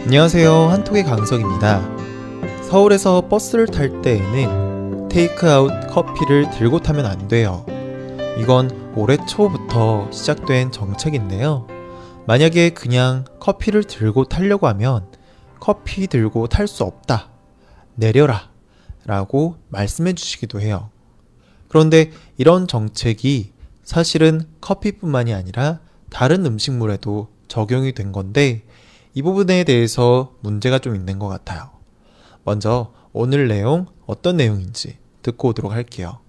안녕하세요, 한톡의 강석입니다. 서울에서 버스를 탈 때에는 테이크아웃 커피를 들고 타면 안 돼요. 이건 올해 초부터 시작된 정책인데요. 만약에 그냥 커피를 들고 타려고 하면 커피 들고 탈 수 없다, 내려라 라고 말씀해 주시기도 해요. 그런데 이런 정책이 사실은 커피뿐만이 아니라 다른 음식물에도 적용이 된 건데, 이 부분에 대해서 문제가 좀 있는 것 같아요. 먼저 오늘 내용 어떤 내용인지 듣고 오도록 할게요.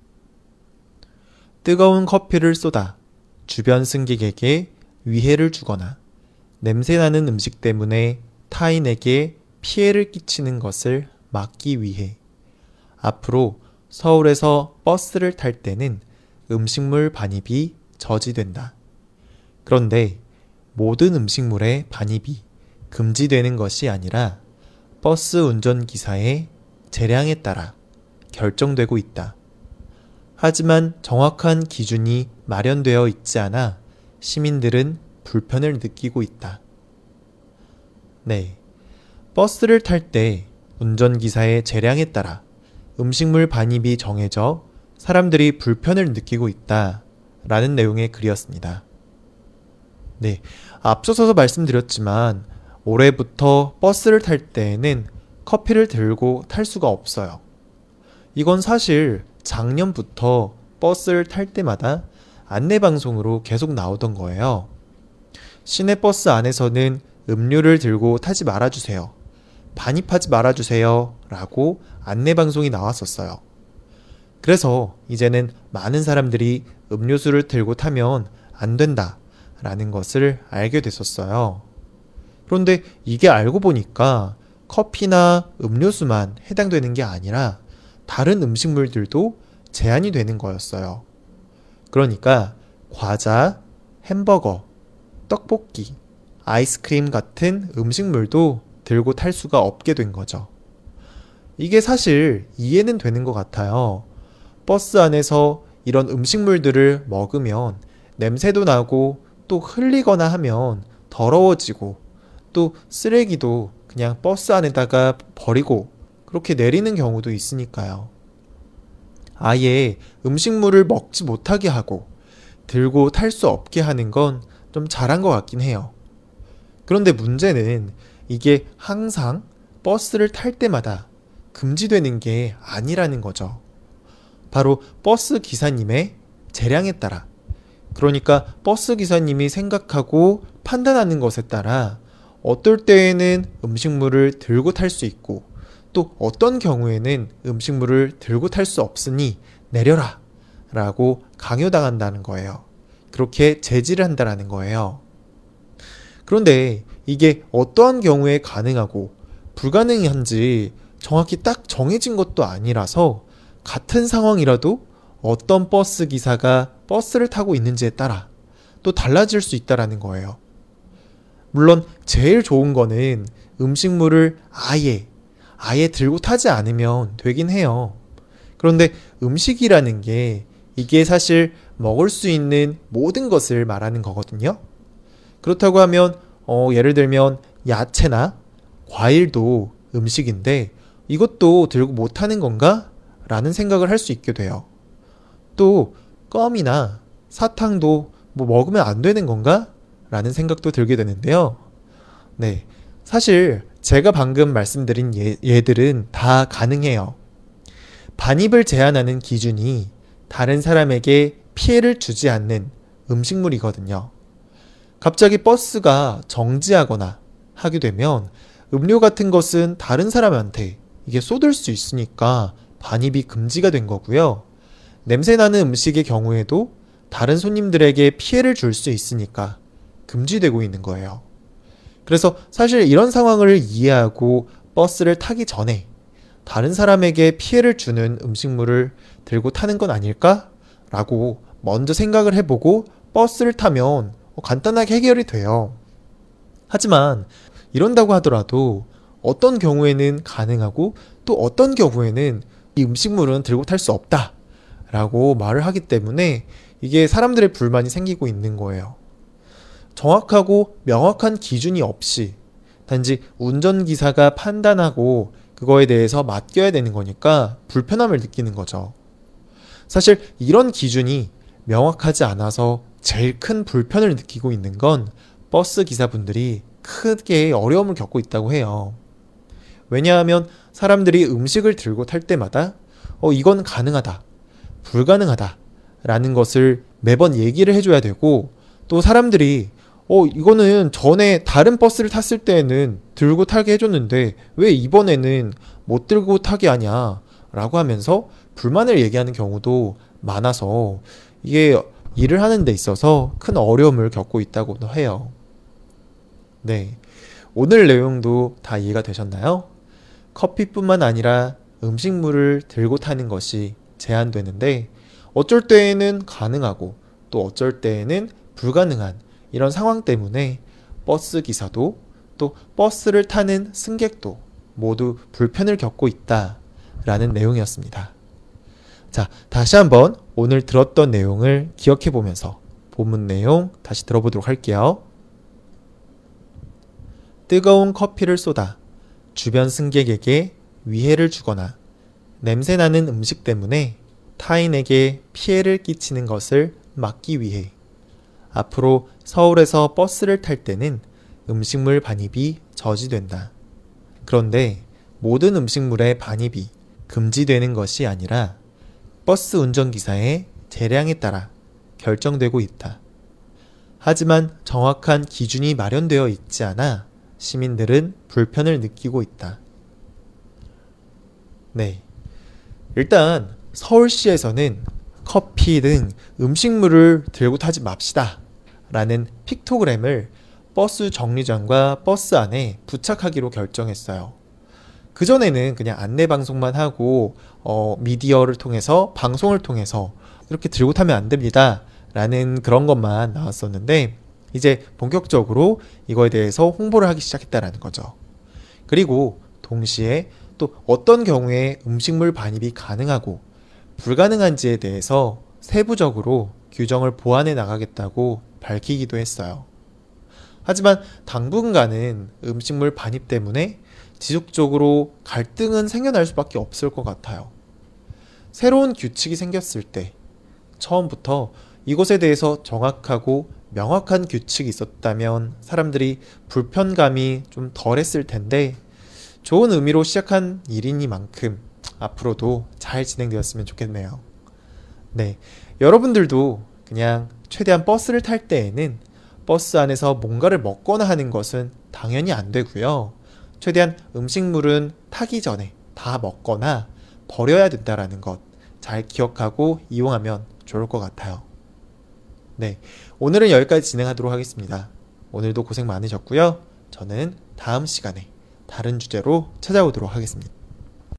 뜨거운 커피를 쏟아 주변 승객에게 위해를 주거나 냄새나는 음식 때문에 타인에게 피해를 끼치는 것을 막기 위해 앞으로 서울에서 버스를 탈 때는 음식물 반입이 저지된다. 그런데 모든 음식물의 반입이 금지되는 것이 아니라 버스 운전기사의 재량에 따라 결정되고 있다. 하지만 정확한 기준이 마련되어 있지 않아 시민들은 불편을 느끼고 있다. 네, 버스를 탈 때 운전기사의 재량에 따라 음식물 반입이 정해져 사람들이 불편을 느끼고 있다 라는 내용의 글이었습니다. 네, 앞서서 말씀드렸지만 올해부터 버스를 탈 때에는 커피를 들고 탈 수가 없어요. 이건 사실 작년부터 버스를 탈 때마다 안내방송으로 계속 나오던 거예요. 시내버스 안에서는 음료를 들고 타지 말아주세요, 반입하지 말아주세요 라고 안내방송이 나왔었어요. 그래서 이제는 많은 사람들이 음료수를 들고 타면 안 된다 라는 것을 알게 됐었어요. 그런데 이게 알고 보니까 커피나 음료수만 해당되는 게 아니라 다른 음식물들도 제한이 되는 거였어요. 그러니까 과자, 햄버거, 떡볶이, 아이스크림 같은 음식물도 들고 탈 수가 없게 된 거죠. 이게 사실 이해는 되는 것 같아요. 버스 안에서 이런 음식물들을 먹으면 냄새도 나고 또 흘리거나 하면 더러워지고 또 쓰레기도 그냥 버스 안에다가 버리고 그렇게 내리는 경우도 있으니까요. 아예 음식물을 먹지 못하게 하고 들고 탈 수 없게 하는 건 좀 잘한 것 같긴 해요. 그런데 문제는 이게 항상 버스를 탈 때마다 금지되는 게 아니라는 거죠. 바로 버스 기사님의 재량에 따라, 그러니까 버스 기사님이 생각하고 판단하는 것에 따라 어떨 때에는 음식물을 들고 탈 수 있고 또 어떤 경우에는 음식물을 들고 탈 수 없으니 내려라 라고 강요당한다는 거예요. 그렇게 제지를 한다는 거예요. 그런데 이게 어떠한 경우에 가능하고 불가능한지 정확히 딱 정해진 것도 아니라서 같은 상황이라도 어떤 버스 기사가 버스를 타고 있는지에 따라 또 달라질 수 있다는 거예요. 물론 제일 좋은 거는 음식물을 아예 들고 타지 않으면 되긴 해요. 그런데 음식이라는 게 이게 사실 먹을 수 있는 모든 것을 말하는 거거든요. 그렇다고 하면 예를 들면 야채나 과일도 음식인데 이것도 들고 못 타는 건가? 라는 생각을 할 수 있게 돼요. 또 껌이나 사탕도 먹으면 안 되는 건가? 라는 생각도 들게 되는데요. 네, 사실 제가 방금 말씀드린 얘들은 다 가능해요. 반입을 제한하는 기준이 다른 사람에게 피해를 주지 않는 음식물이거든요. 갑자기 버스가 정지하거나 하게 되면 음료 같은 것은 다른 사람한테 이게 쏟을 수 있으니까 반입이 금지가 된 거고요. 냄새나는 음식의 경우에도 다른 손님들에게 피해를 줄 수 있으니까 금지되고 있는 거예요. 그래서 사실 이런 상황을 이해하고 버스를 타기 전에 다른 사람에게 피해를 주는 음식물을 들고 타는 건 아닐까? 라고 먼저 생각을 해보고 버스를 타면 간단하게 해결이 돼요. 하지만 이런다고 하더라도 어떤 경우에는 가능하고 또 어떤 경우에는 이 음식물은 들고 탈 수 없다 라고 말을 하기 때문에 이게 사람들의 불만이 생기고 있는 거예요. 정확하고 명확한 기준이 없이 단지 운전기사가 판단하고 그거에 대해서 맡겨야 되는 거니까 불편함을 느끼는 거죠. 사실 이런 기준이 명확하지 않아서 제일 큰 불편을 느끼고 있는 건 버스 기사분들이 크게 어려움을 겪고 있다고 해요. 왜냐하면 사람들이 음식을 들고 탈 때마다 이건 가능하다, 불가능하다 라는 것을 매번 얘기를 해줘야 되고, 또 사람들이 이거는 전에 다른 버스를 탔을 때에는 들고 타게 해줬는데 왜 이번에는 못 들고 타게 하냐 라고 하면서 불만을 얘기하는 경우도 많아서 이게 일을 하는 데 있어서 큰 어려움을 겪고 있다고도 해요. 네, 오늘 내용도 다 이해가 되셨나요? 커피뿐만 아니라 음식물을 들고 타는 것이 제한되는데 어쩔 때에는 가능하고 또 어쩔 때에는 불가능한 이런 상황 때문에 버스 기사도 또 버스를 타는 승객도 모두 불편을 겪고 있다라는 내용이었습니다. 자, 다시 한번 오늘 들었던 내용을 기억해 보면서 본문 내용 다시 들어보도록 할게요. 뜨거운 커피를 쏟아 주변 승객에게 위해를 주거나 냄새나는 음식 때문에 타인에게 피해를 끼치는 것을 막기 위해 앞으로 서울에서 버스를 탈 때는 음식물 반입이 저지된다. 그런데 모든 음식물의 반입이 금지되는 것이 아니라 버스 운전기사의 재량에 따라 결정되고 있다. 하지만 정확한 기준이 마련되어 있지 않아 시민들은 불편을 느끼고 있다. 네, 일단 서울시에서는 커피 등 음식물을 들고 타지 맙시다 라는 픽토그램을 버스 정류장과 버스 안에 부착하기로 결정했어요. 그전에는 그냥 안내방송만 하고 미디어를 통해서 방송을 통해서 이렇게 들고 타면 안 됩니다 라는 그런 것만 나왔었는데 이제 본격적으로 이거에 대해서 홍보를 하기 시작했다라는 거죠. 그리고 동시에 또 어떤 경우에 음식물 반입이 가능하고 불가능한지에 대해서 세부적으로 규정을 보완해 나가겠다고 밝히기도 했어요. 하지만 당분간은 음식물 반입 때문에 지속적으로 갈등은 생겨날 수밖에 없을 것 같아요. 새로운 규칙이 생겼을 때 처음부터 이것에 대해서 정확하고 명확한 규칙이 있었다면 사람들이 불편감이 좀 덜했을 텐데 좋은 의미로 시작한 일이니만큼 앞으로도 잘 진행되었으면 좋겠네요. 네, 여러분들도 그냥 최대한 버스를 탈 때에는 버스 안에서 뭔가를 먹거나 하는 것은 당연히 안 되고요. 최대한 음식물은 타기 전에 다 먹거나 버려야 된다라는 것 잘 기억하고 이용하면 좋을 것 같아요. 네, 오늘은 여기까지 진행하도록 하겠습니다. 오늘도 고생 많으셨고요. 저는 다음 시간에 다른 주제로 찾아오도록 하겠습니다.